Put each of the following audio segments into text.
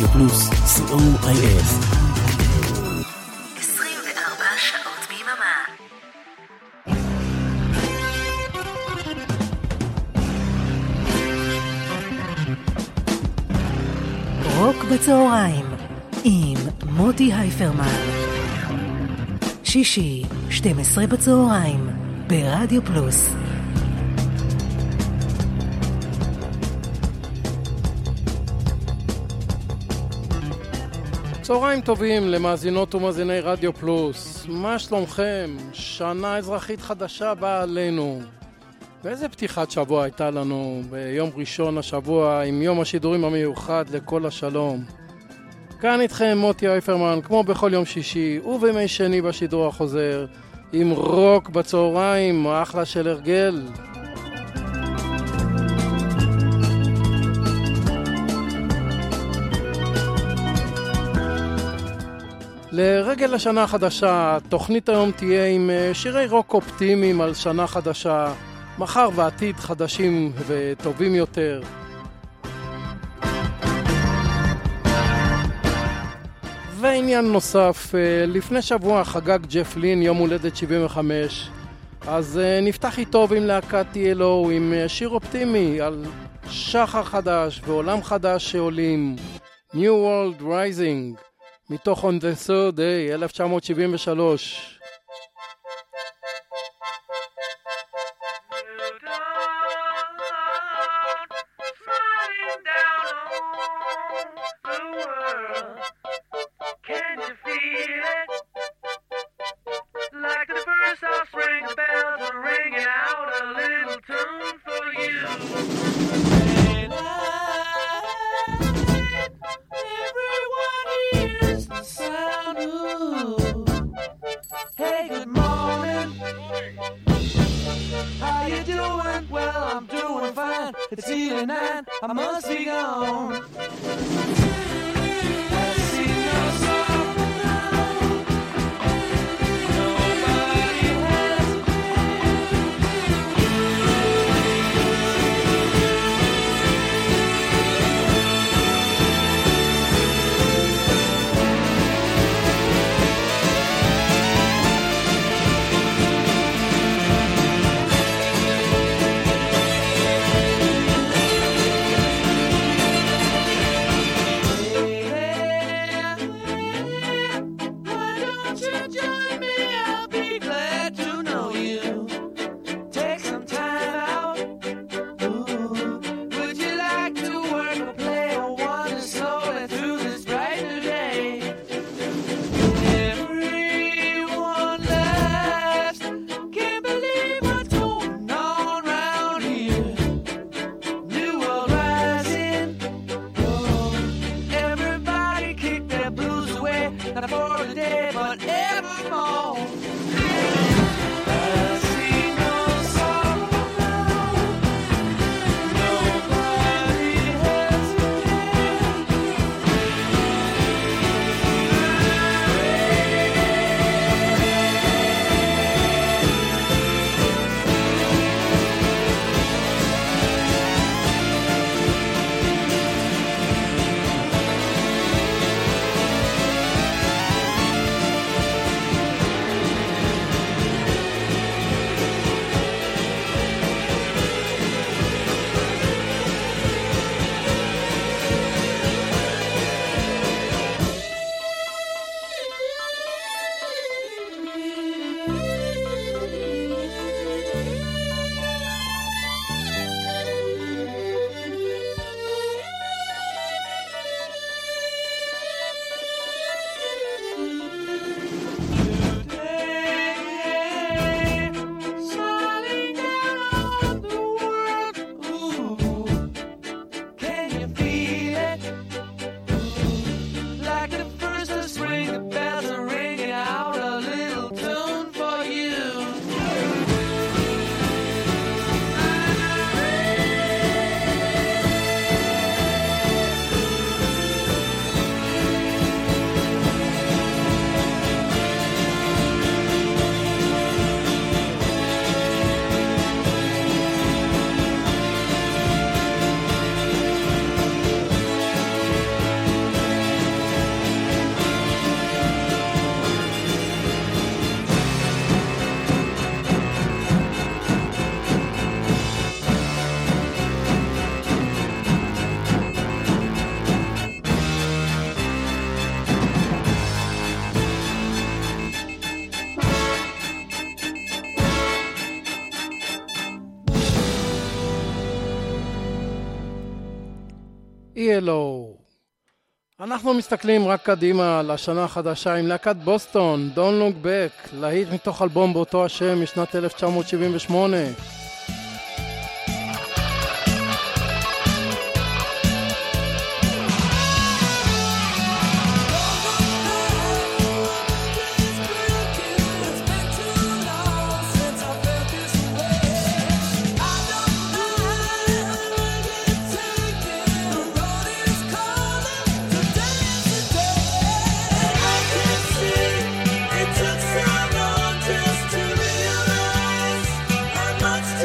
רדיו פלוס, co.il 24 שעות ביממה. רוק בצהריים עם מוטי הייפרמן. שישי, 12 בצהריים, ברדיו פלוס. צהריים טובים למאזינות ומאזיני רדיו פלוס. מה שלומכם? שנה אזרחית חדשה באה עלינו. ואיזה פתיחת שבוע הייתה לנו ביום ראשון השבוע עם יום השידורים המיוחד לכל השלום. כאן איתכם מוטי הייפרמן, כמו בכל יום שישי ובימי שני בשידור החוזר, עם רוק בצהריים, אחלה של הרגל. לרגל השנה החדשה, תוכנית היום תהיה עם שירי רוק אופטימיים על שנה חדשה, מחר ועתיד חדשים וטובים יותר. ועניין נוסף, לפני שבוע חגג ג'ף לין יום הולדת 75, אז נפתח איתו עם להקת TLO עם שיר אופטימי על שחר חדש ועולם חדש שעולים, New World Rising, מתוך On the Third Day 1973. It's evening and I must be gone. ELO. אנחנו מסתכלים רק קדימה לשנה החדשה עם להקת בוסטון, Don't Look Back, להיט מתוך אלבום באותו השם משנת 1978. Much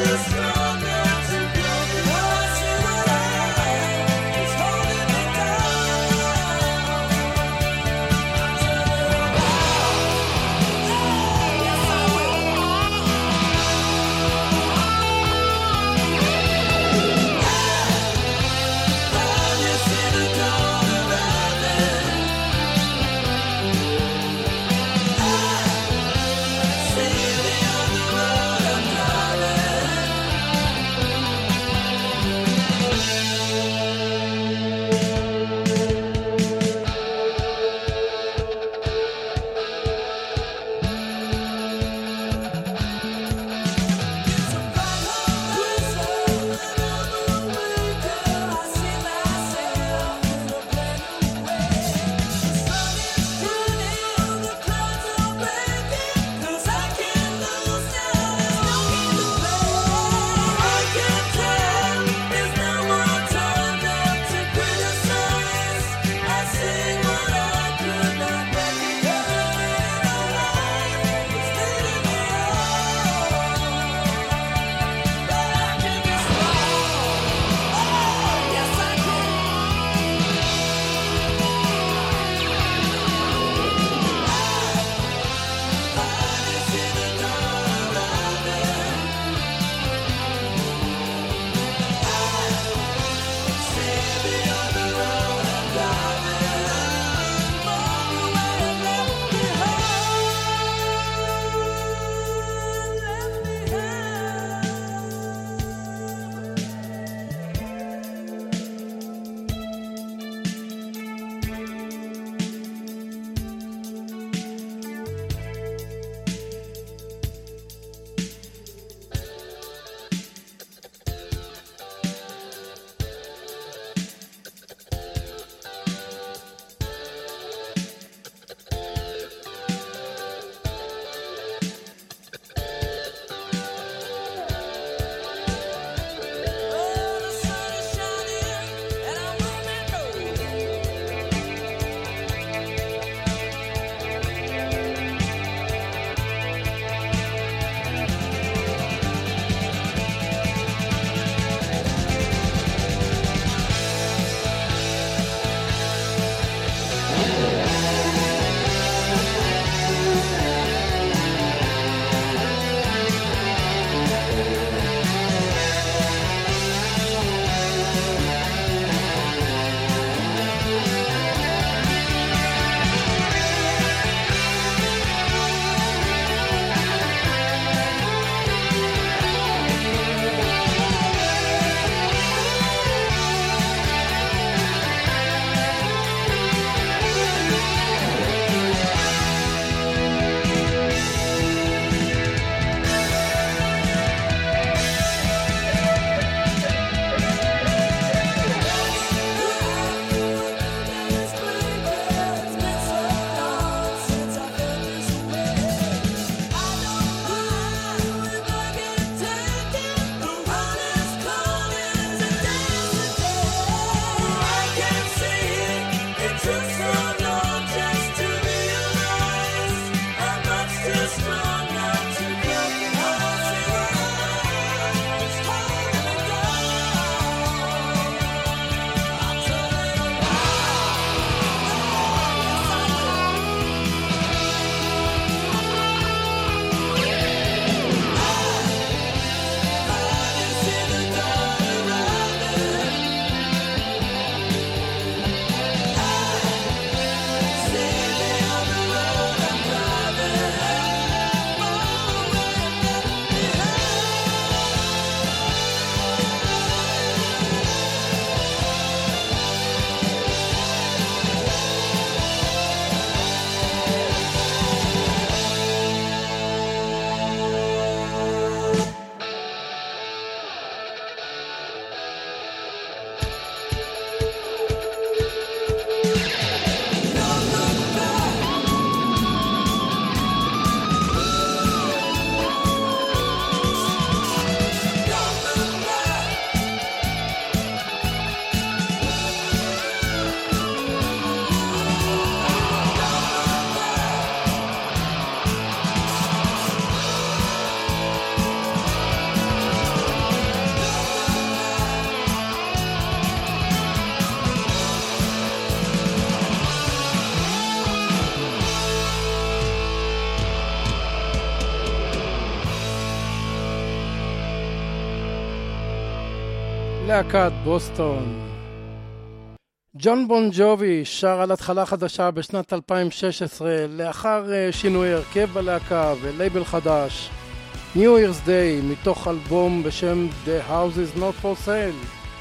להקת בוסטון. ג'ון בון ג'ובי שר על התחלה חדשה בשנת 2016 לאחר שינוי הרכב בלהקה ולייבל חדש, New Year's Day, מתוך אלבום בשם The House is Not for Sale.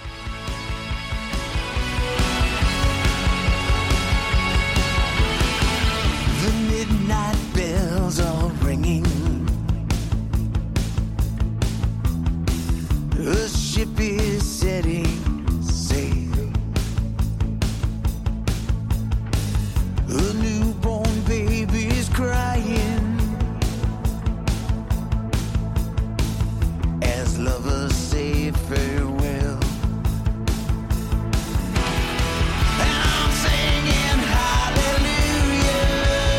The midnight bells are ringing. The ship is setting sail. The newborn baby's crying as lovers say farewell. And I'm singing hallelujah.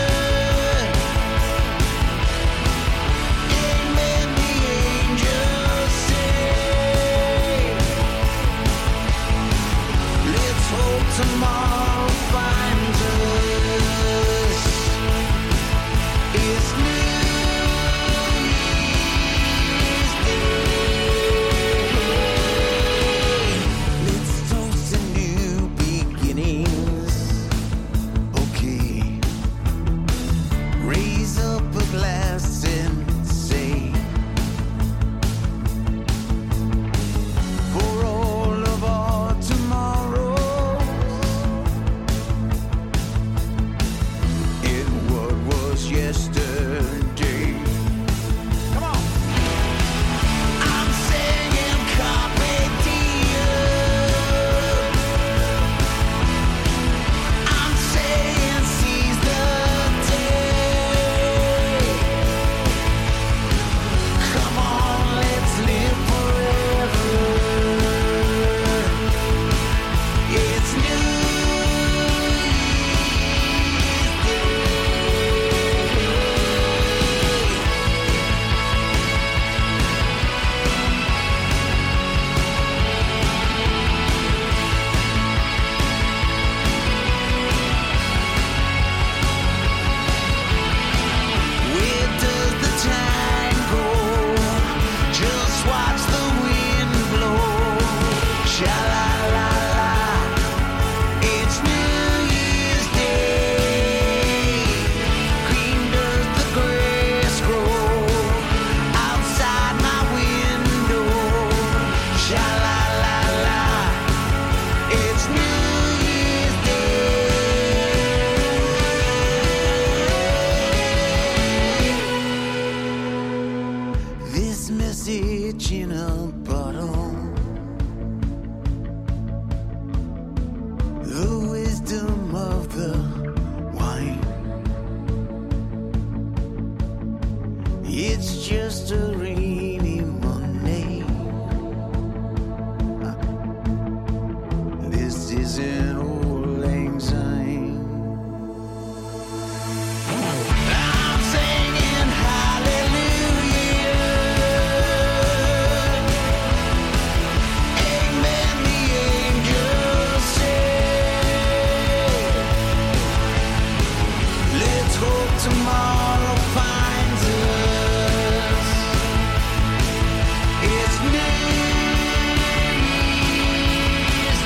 Amen, the angels say. Let's hope tomorrow finds us. It's New Year's Day. Let's toast to new beginnings. Okay. Raise up a glass and say, for all of our tomorrows, in what was yesterday. Come on. I'm singing Carpe Diem. I'm saying seize the day. Come on, let's live forever. It's New Year's Day. Where does the time go? Just watch the wind blow. Sha-la-la-la. It's New Year's Day. Green does the grass grow outside my window. Sha-la-la-la. It's New Year's Day. This message in a bottle. The wisdom of the wine. It's just a rainy Monday. This isn't old lang syne. I'm singing hallelujah. Amen, the angels say. Let's hope tomorrow finds us. It's New Year's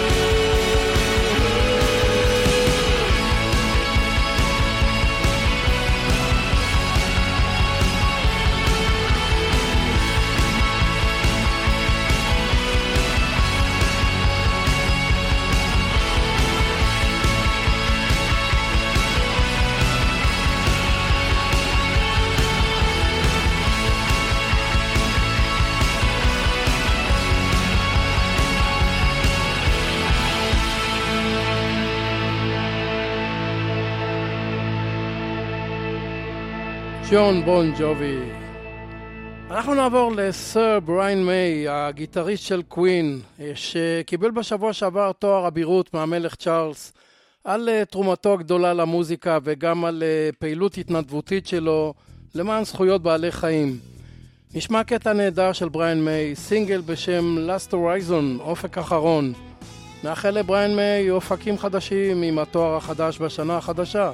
ג'ון בון ג'ובי. אנחנו נעבור לסר בריין מיי, הגיטריסט של קווין, שקיבל בשבוע שעבר תואר אבירות מהמלך צ'ארלס על תרומתו הגדולה למוזיקה וגם על פעילות התנדבותית שלו למען זכויות בעלי חיים. נשמע קטע נהדר של בריין מיי, סינגל בשם Last Horizon, אופק אחרון. נאחל לבריין מיי אופקים חדשים עם התואר החדש בשנה החדשה.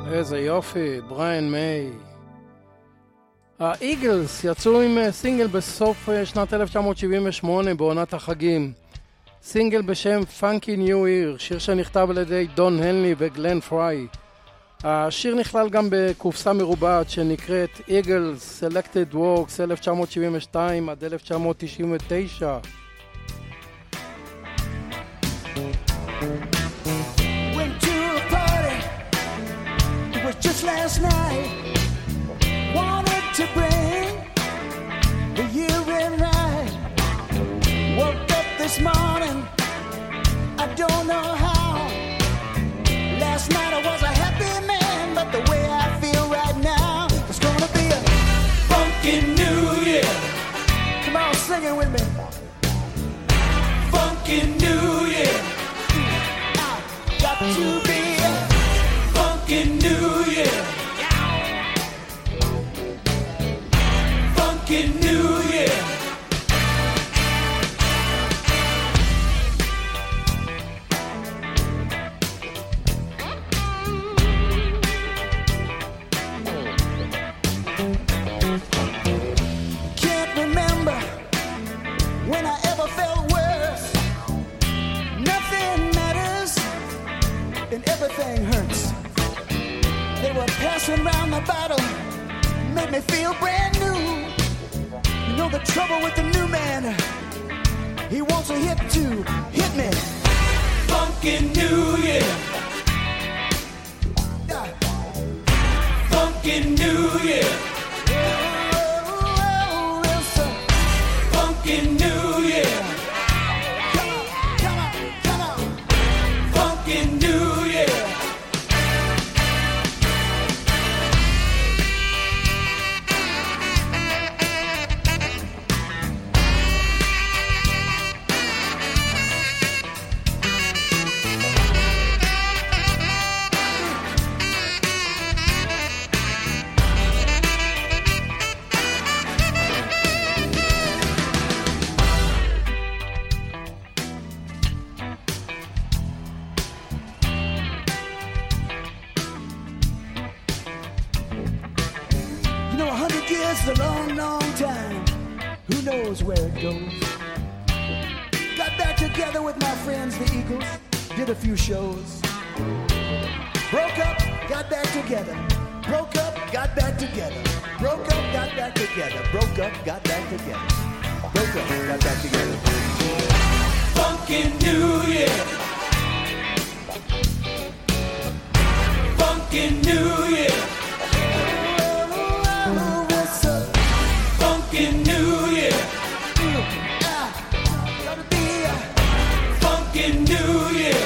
איזה יופי, בריאן מיי. האיגלס יצאו עם סינגל בסוף שנת 1978 בעונת החגים. סינגל בשם Funky New Year, שיר שנכתב על ידי דון הנלי וגלן פריי. השיר נכלל גם בקופסה מרובעת שנקראת Eagles Selected Works 1972 עד 1999. Went to a party, it was just last night. Wanted to bring the year in right. Woke up this morning, I don't know how. Last night I was a happy man, but the way I feel right now, it's gonna be a funky new year. Come on, sing it with me. Funky new year. Got to be a funky new year. Funky new year. Can't remember when I ever felt worse. Nothing matters and everything hurts. They were passing around the bottle, made me feel brand new. You know the trouble with the new man, he wants a hit to hit me. Funky new year. Funky new year. Oh, it's a funky new year. Come on, come on, come on. Funky new year. You know, 100 years is a long, long time. Who knows where it goes? Got back together with my friends, the Eagles. Did a few shows. Broke up, got back together. Broke up, got back together. Broke up, got back together. Broke up, got back together. Broke up, got back together. Funky New Year. Funky New Year. Funky New Year. Gotta be a funky New Year.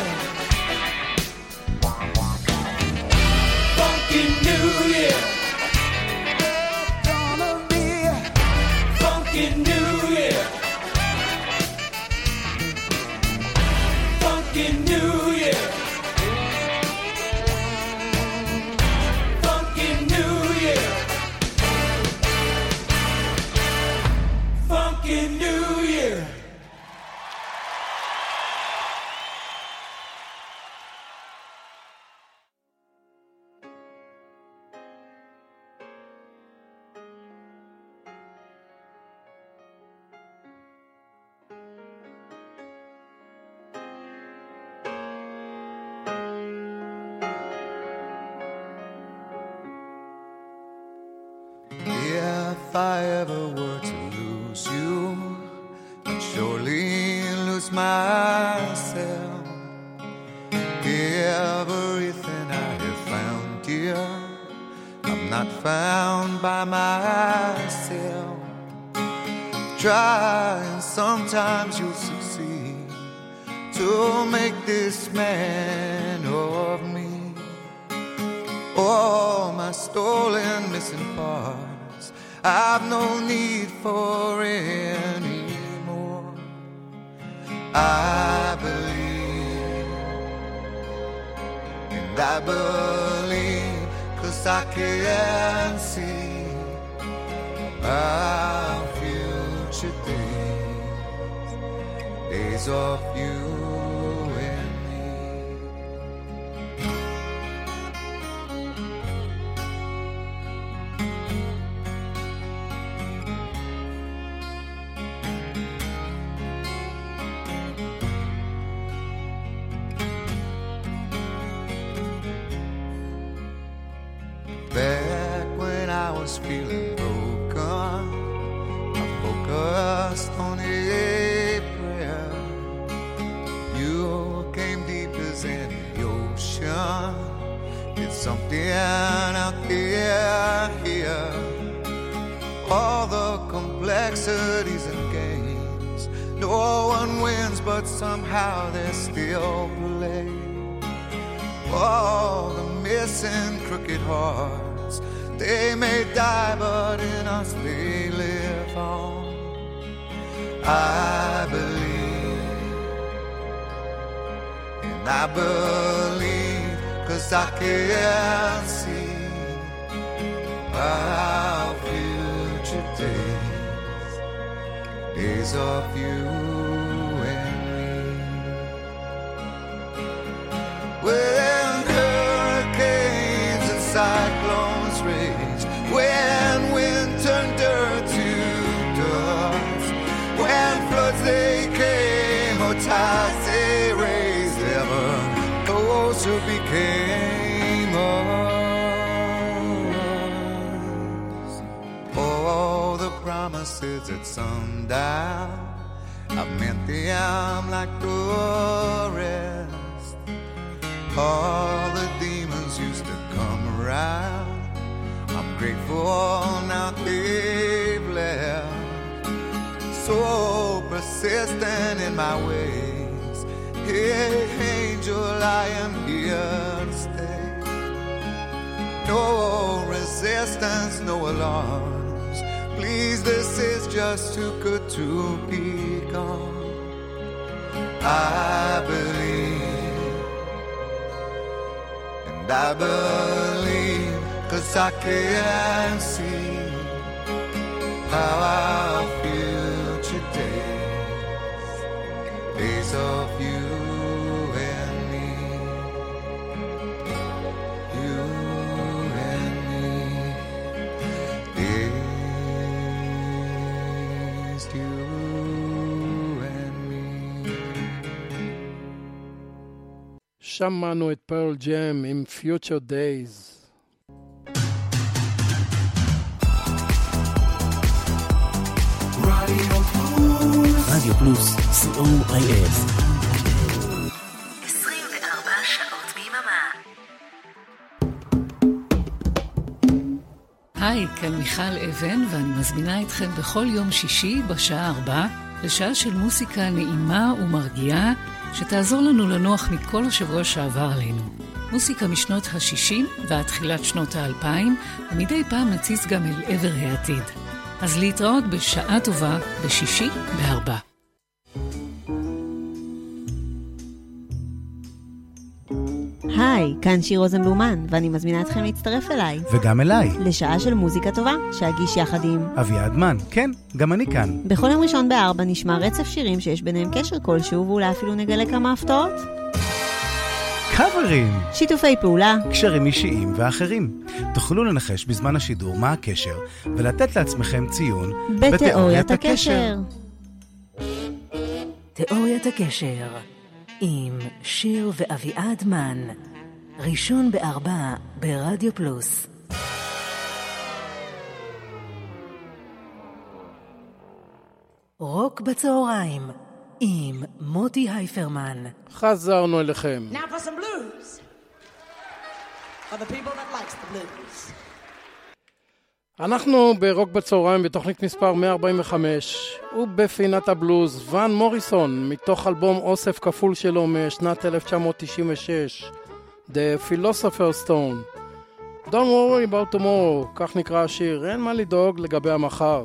Funky New Year. Gonna be a funky New Year. Funky New Year. Funky New Year. Funky New Year. If I ever were to lose you, I'd surely lose myself. Everything I have found here, I'm not found by myself. Try and sometimes you'll succeed to make this man of me. All my stolen missing parts, I've no need for anymore. I believe, and I believe, 'cause I can see our future days, days of you and me. was feeling broken, I focused on a prayer. You came deep as any ocean. It's something out there, here. All the complexities and games. No one wins, but somehow they're still played. All the missing crooked hearts, they may die, but in us they live on. I believe, and I believe, 'cause I can see our future days, days of you and me. When hurricanes and cyclones rage, when wind turned dirt to dust, when floods they came or tides they raised, ever those who became us. All the promises at sundown, I meant them like the rest. All the demons used to come around, I'm grateful now they've left. So persistent in my ways, hey angel, I am here to stay. No resistance, no alarms, please, this is just too good to be gone. I believe, and I believe, 'cause I can see how our future days, days of you and me, you and me, days you and me. שמענו את פרל ג'ם עם Future Days. רדיו פלוס, COIF. 24 שעות ביממה. היי, כאן מיכל אבן, ואני מזמינה אתכם בכל יום שישי בשעה 4 לשעה של מוסיקה נעימה ומרגיעה שתעזור לנו לנוח מכל השבוע שעבר עלינו. מוסיקה משנות ה-60 ועד תחילת שנות ה-2000, ומדי פעם נציץ גם אל עבר העתיד. אז להתראות בשעה טובה בשישי ב-4. היי, כאן שיר רוזנבלומן, ואני מזמינה אתכם להצטרף אליי. וגם אליי. לשעה של מוזיקה טובה, שאגיש יחד עם אביעד מן. כן, גם אני כאן. בכל יום ראשון ב-4 נשמע רצף שירים שיש ביניהם קשר כלשהו, ואולי אפילו נגלה כמה הפתעות. קאברים. שיתופי פעולה. קשרים אישיים ואחרים. תוכלו לנחש בזמן השידור מה הקשר, ולתת לעצמכם ציון בתיאוריית הקשר. תיאוריית הקשר עם שיר ואביעד מן, ראשון ב-4 ברדיו פלוס. רוק בצהריים עם מוטי הייפרמן. חזרנו אליכם. Now for some blues. For the people that likes the blues. אנחנו ברוק בצהריים בתוכנית מספר 145, ובפינת הבלוז ון מוריסון מתוך אלבום אוסף כפול שלו משנת 1996, The Philosopher's Stone. Don't worry about tomorrow, כך נקרא השיר, אין מה לדאוג לגבי המחר.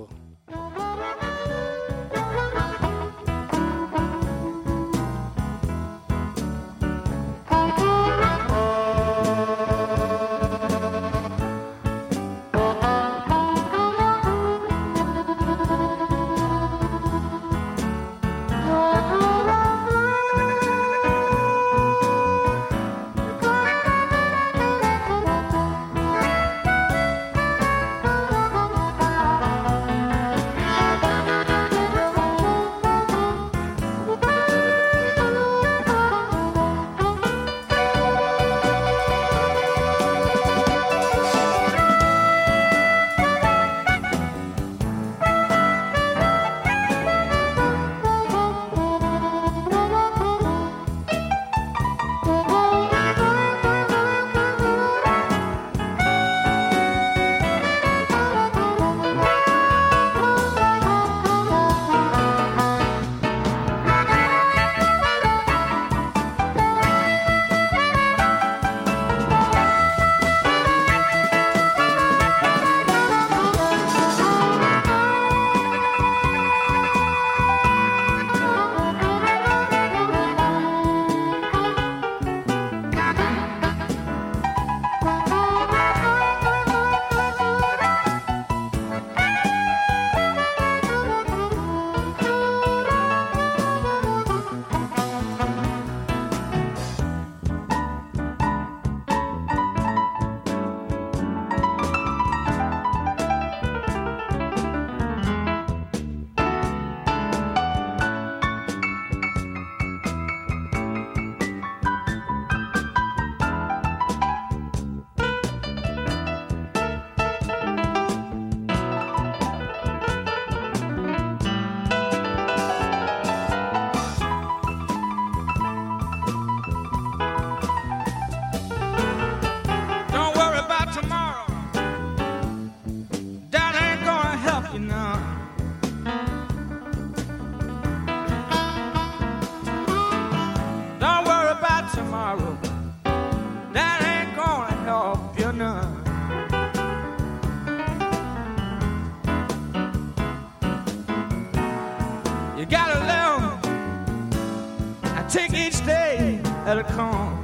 that it comes.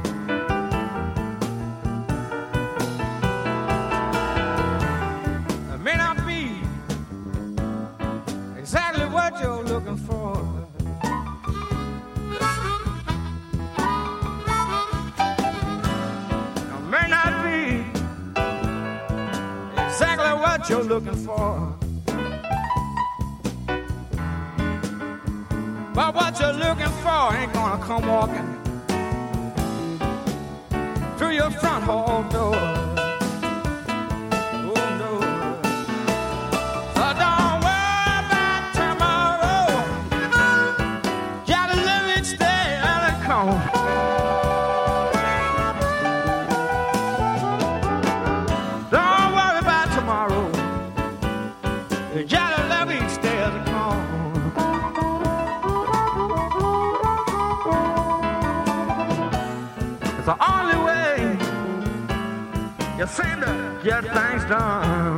It may not be exactly what you're looking for. It may not be exactly what you're looking for. But what you're looking for ain't gonna come walking through your front hall door. Oh no. So don't worry about tomorrow. Gotta live each day as it comes. Don't worry about tomorrow. You gotta live each day as it comes. It's the only way you seem to get things done.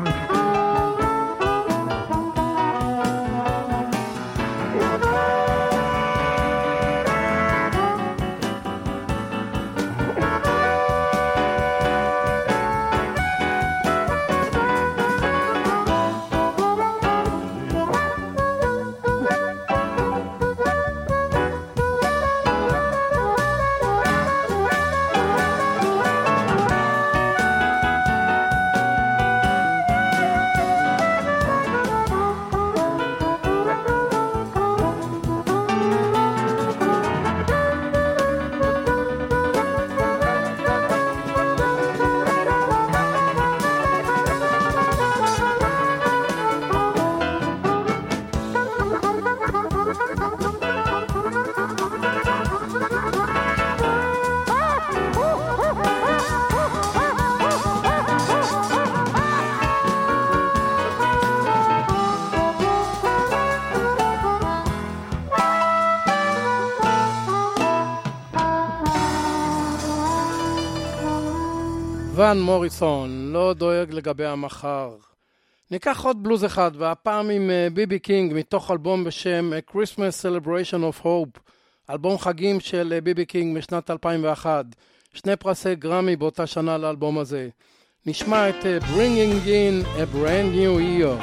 ון מוריסון, לא דואג לגבי המחר. ניקח עוד בלוז אחד, והפעם עם ביבי קינג, מתוך אלבום בשם A Christmas Celebration of Hope, אלבום חגים של ביבי קינג משנת 2001, 2 פרסי גרמי באותה שנה לאלבום הזה. נשמע את Bringing in a Brand New Year.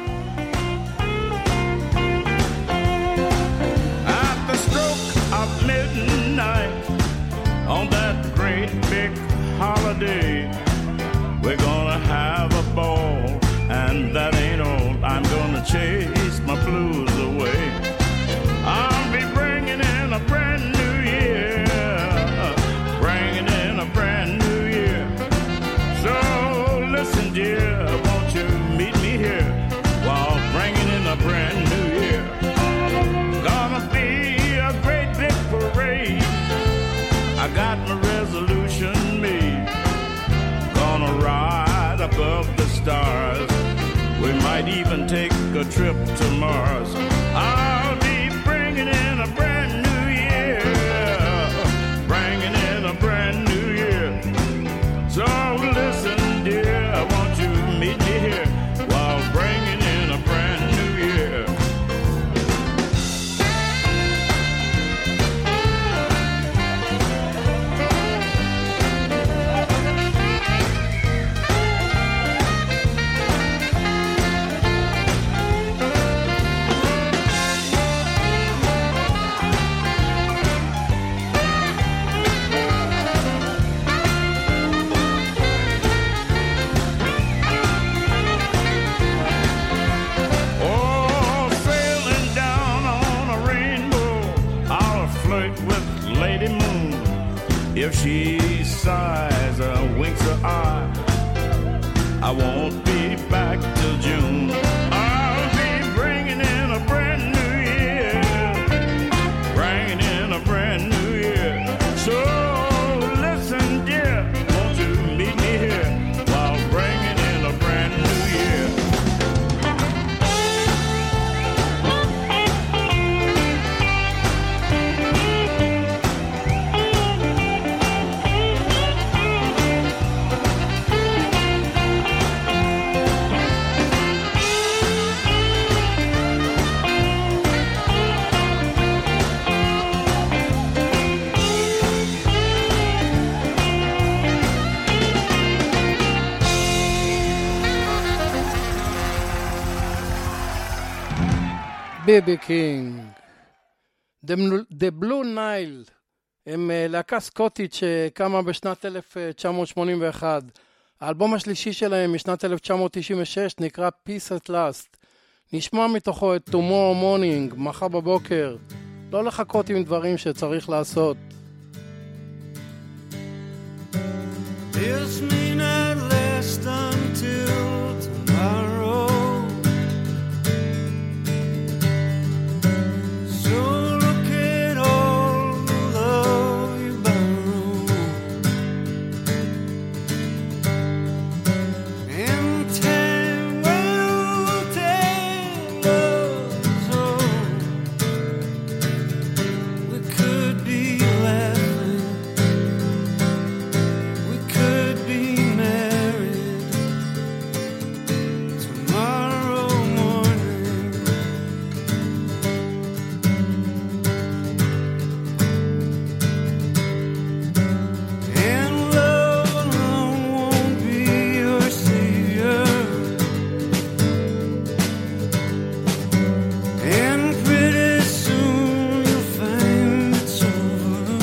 At the stroke of midnight, on that great big holiday, we're gonna have a ball, and that ain't all. I'm gonna chase my blues away. I'll be bringing in a brand new year, bringing in a brand new year. So listen, dear, won't you meet me here while bringing in a brand new year? Gonna be a great big parade. I got my resolution made. Gonna ride above the stars. We might even take a trip to Mars. I'll be bringing in a brand new year, bringing in a brand new year. So listen, dear, won't you meet me here while bringing in a brand new year? If she sighs or winks her eye, I won't be back till June. I'll be bringing in a brand new year, bringing in a brand new year. So listen, dear, won't you meet me here while bringing in a brand new year? ביבי קינג. The Blue Nile הם להקה סקוטית שקמה בשנת 1981. האלבום השלישי שלהם משנת 1996 נקרא Peace at Last. נשמע מתוכו את Tomorrow Morning, מחר בבוקר. לא לחכות עם דברים שצריך לעשות. This may not last until tomorrow. So look at all the love you borrow. And time will tell us all. We could be laughing. We could be married tomorrow morning. And love alone won't be your savior. And pretty soon you'll find it's over.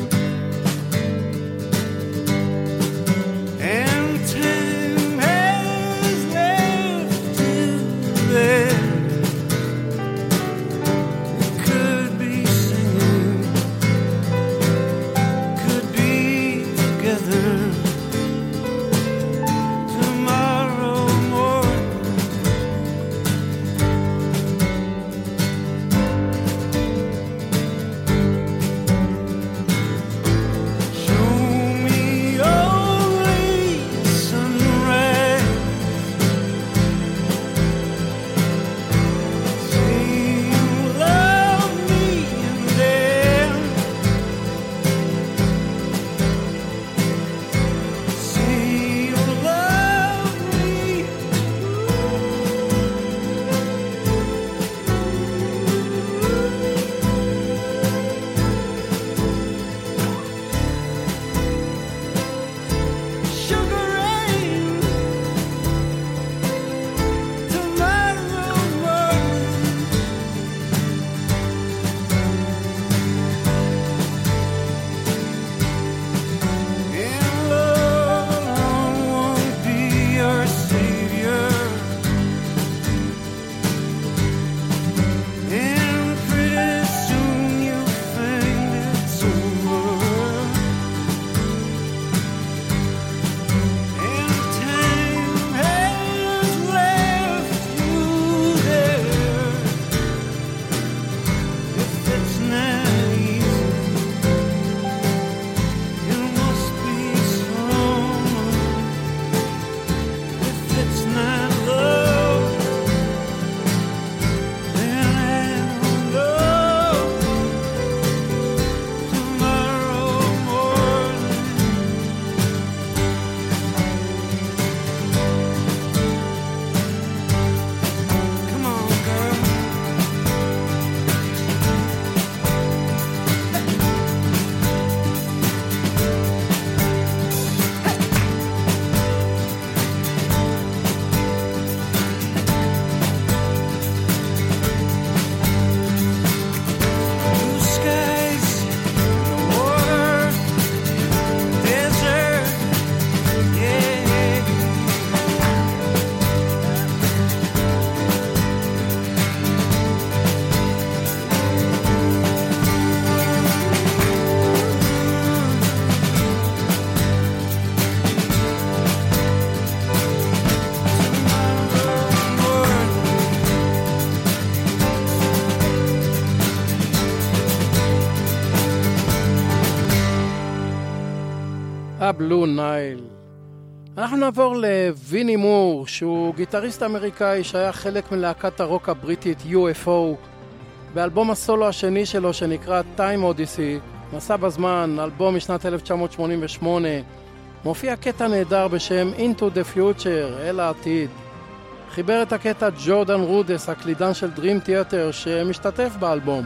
And time has left you there. We could be singing, could be together tomorrow morning. Show me only sunrise. Say you love me and then say you love me. Sugar rain tomorrow morning. And love alone won't be your savior. And pretty soon you'll find it's over. And time has left you there. If it's not easy, it must be strong. If it's not love, then I don't know. Tomorrow morning. Come on, girl. Blue skies, the water, desert, yeah. הבלו נייל. אנחנו נעבור לוויני מור, שהוא גיטריסט אמריקאי שהיה חלק מלהקת הרוק הבריטית UFO. באלבום הסולו השני שלו שנקרא Time Odyssey, מסע בזמן, אלבום משנת 1988, מופיע קטע נהדר בשם Into the Future, אל העתיד. חיבר את הקטע ג'ורדן רודס, הקלידן של Dream Theater, שמשתתף באלבום.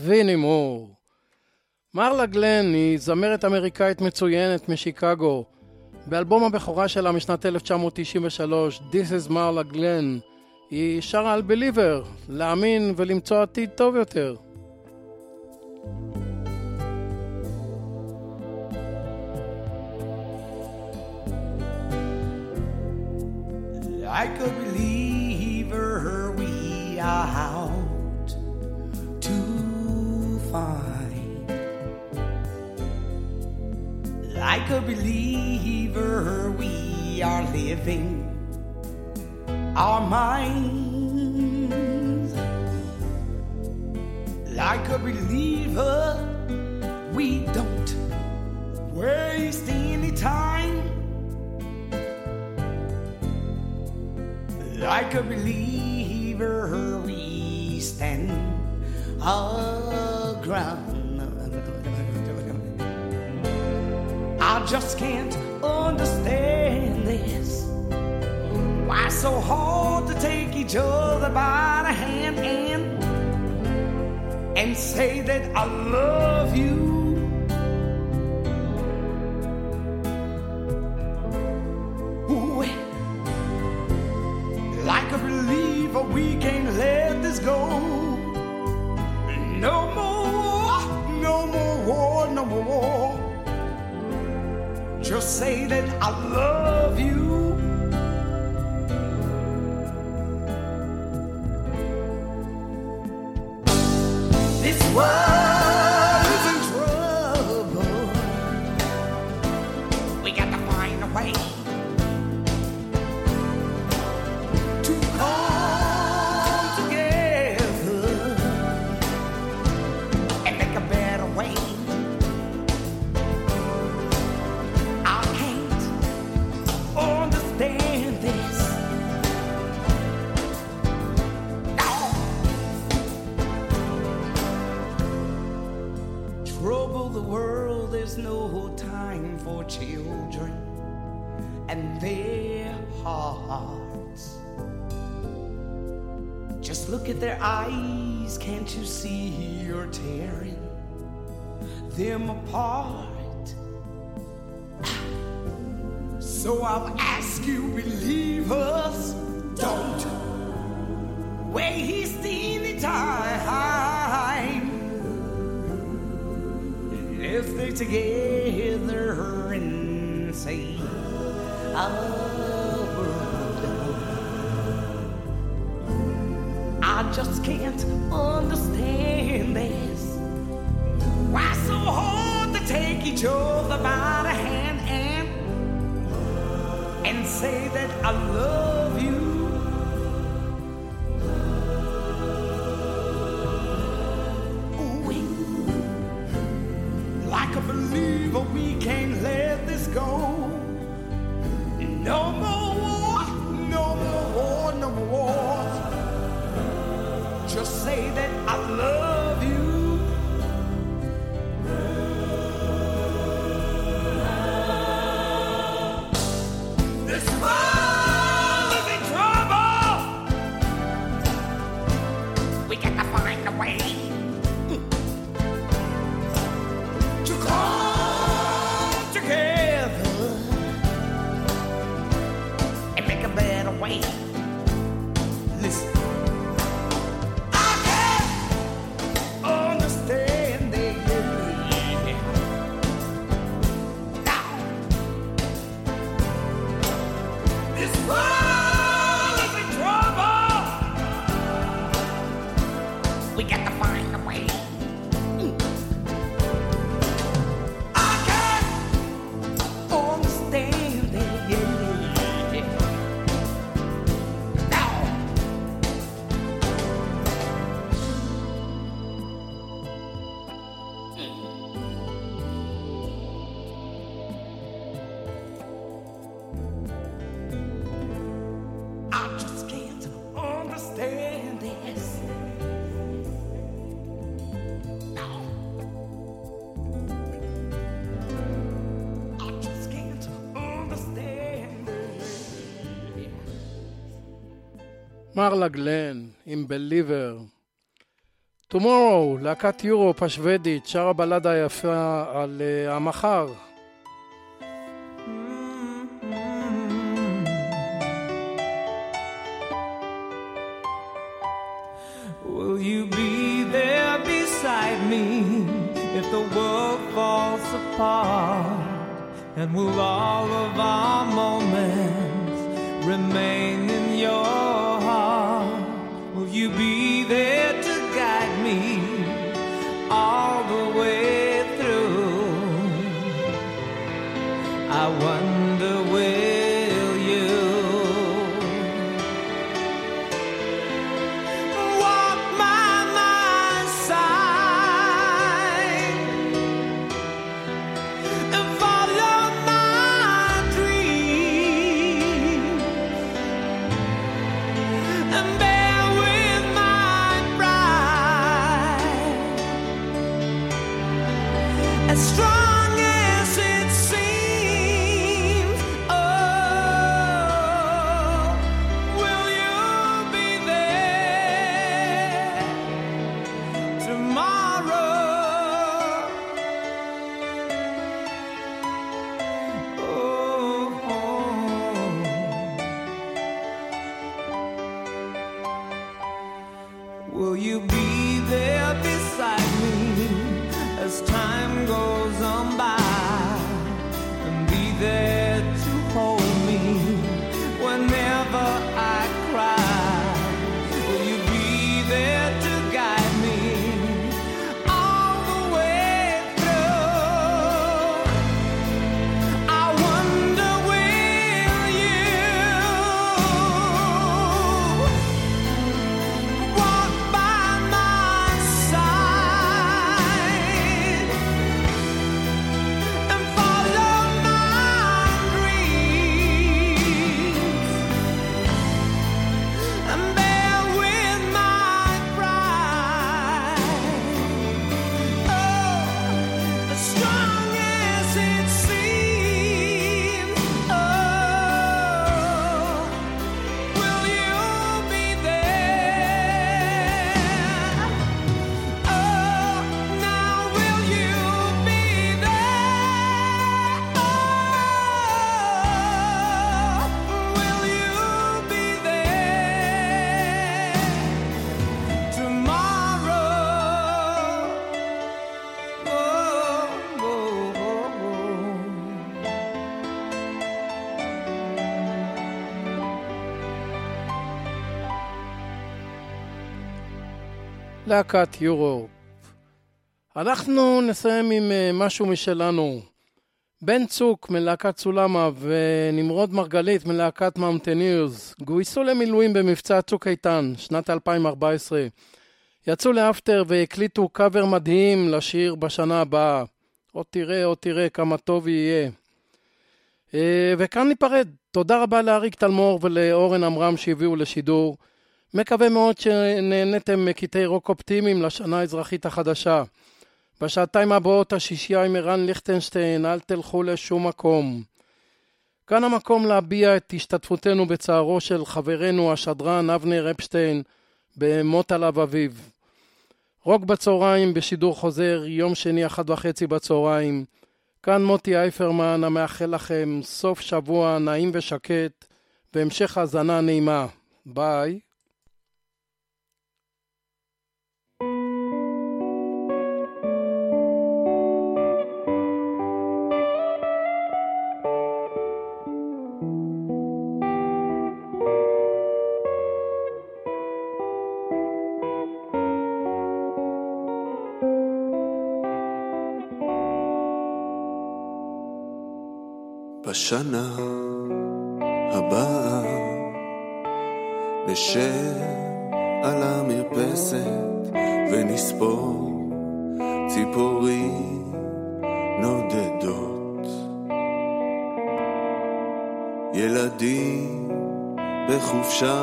love anymore. מרלה גלן היא זמרת אמריקאית מצוינת משיקגו. באלבום הבכורה שלה משנת 1993, This is Marla Glenn, היא שרה על Believer, להאמין ולמצוא עתיד טוב יותר. Like a believer we are out to find. Like a believer we are living our minds. Like a believer we don't waste any time. Like a believer we stand our ground. I just can't understand this. Why so hard to take each other by the hand and say that I love you? Ooh, like a believer we can't let this go. No more, no more war, no more war. Just say that I love you. This world is in trouble. We got to find a way to come together and make a better way. No time for children and their hearts. Just look at their eyes, can't you see you're tearing them apart? So I'll ask you, believers, don't waste any time. Let's stay together and say our word. I just can't understand this. Why so hard to take each other by the hand and say that I love you? Like a believer we can't let this go. No more war, no more war, no more wars. Just say that I love you. This world is in trouble. We got to find a way to come together and make a better way. Listen, I can't understand it now. This world is in trouble. We got to find a way. מרלה גלן עם בליבר. Tomorrow, להקת יורופ השוודית, שרה בלדה יפה על המחר. Will you be there beside me if the world falls apart? And will all of our moments remain in your heart? Will you be there to guide me all the way through? I wonder, will you walk by my side and follow my dreams and bear with my pride, as strong as it seems? Oh, will you be there tomorrow? Will you be there beside me as time goes on by, and be there to hold me whenever I cry? Will you be there to guide me all the way through? I wonder, will you walk by my side and follow my dreams and bear with my pride? Oh, as strong as it seems. Oh, will you be there? Oh, now will you be there? Oh, will you be there tomorrow? Oh, oh, oh, להקת יורופ. אנחנו נסיים עם משהו משלנו. בן צוק מלהקת סולמה ונמרוד מרגלית מלהקת מאונטנירס גויסו למילואים במבצע צוק איתן, שנת 2014. יצאו לאפטר והקליטו קאבר מדהים לשיר בשנה הבאה. עוד תראה כמה טוב יהיה. וכאן ניפרד. תודה רבה לאריק תלמור ולאורן אמרם שהביאו לשידור. מקווה מאוד שנהנתם מקטעי רוק אופטימיים לשנה האזרחית החדשה. בשעתיים הבאות השישייה עם ערן ליכטנשטיין, אל תלכו לשום מקום. כאן המקום להביע את השתתפותנו בצערו של חברנו השדרן אבנר אפשטיין במות עליו אביו. רוק בצהריים בשידור חוזר, יום שני 1:30 בצהריים. כאן מוטי אייפרמן המאחל לכם סוף שבוע נעים ושקט והמשך האזנה נעימה. ביי. בשנה הבאה נשב על המרפסת ונספור ציפורים נודדות, ילדים בחופשה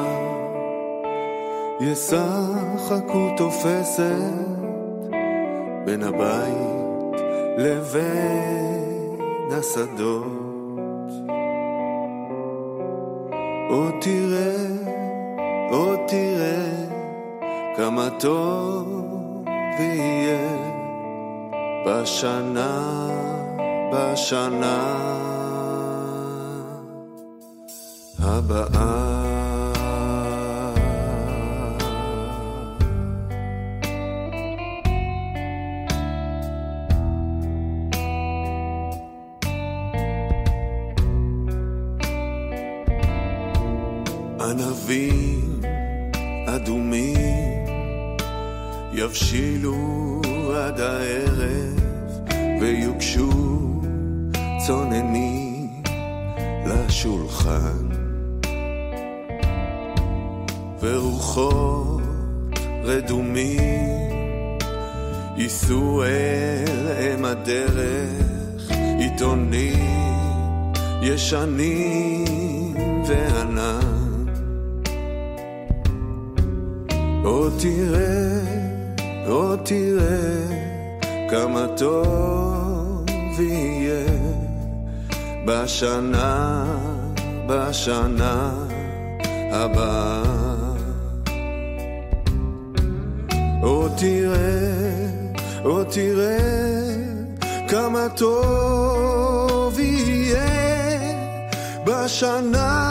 ישחקו תופסת בין הבית לבין השדות. עוד תראה כמה טוב ויהיה בשנה הבאה. ענבים אדומים יבשילו עד הערב ויוגשו צוננים לשולחן, ורוחות רדומים ייסעו אל הדרך, עיתונים ישנים וענן. או תראה כמה טוב יהיה בשנה הבאה. או תראה כמה טוב יהיה בשנה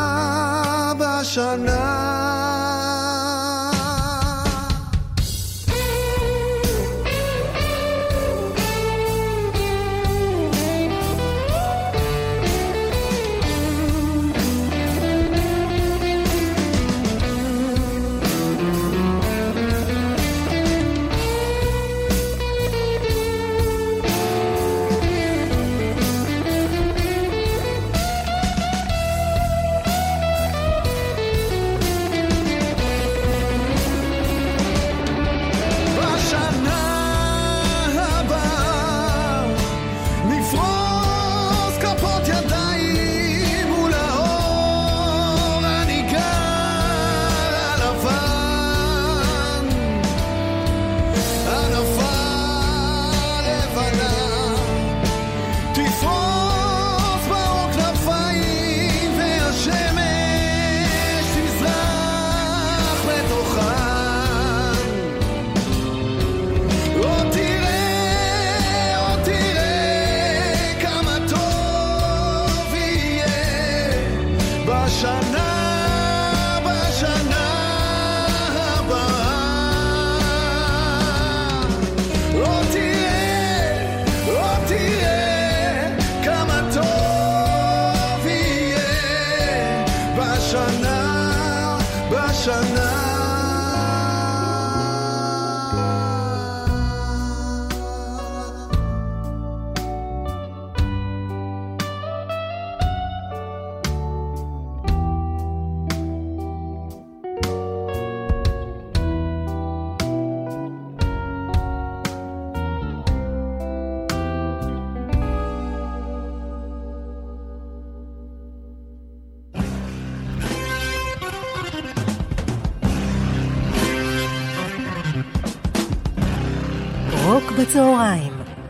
בצהריים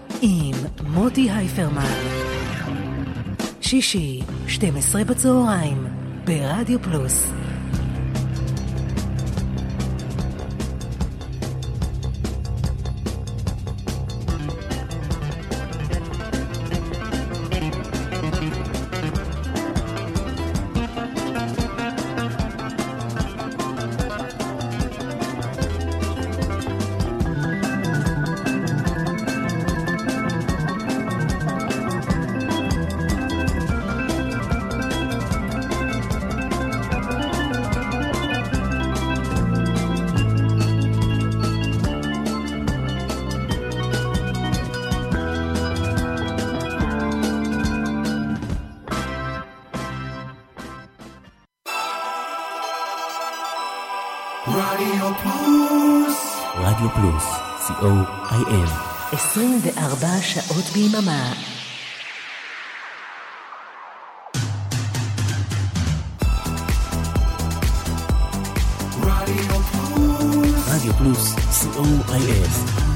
עם מוטי הייפרמן. שישי 12 בצהריים ברדיו פלוס. רדיו פלוס, COIM 24 שעות ביממה. רדיו פלוס, COIM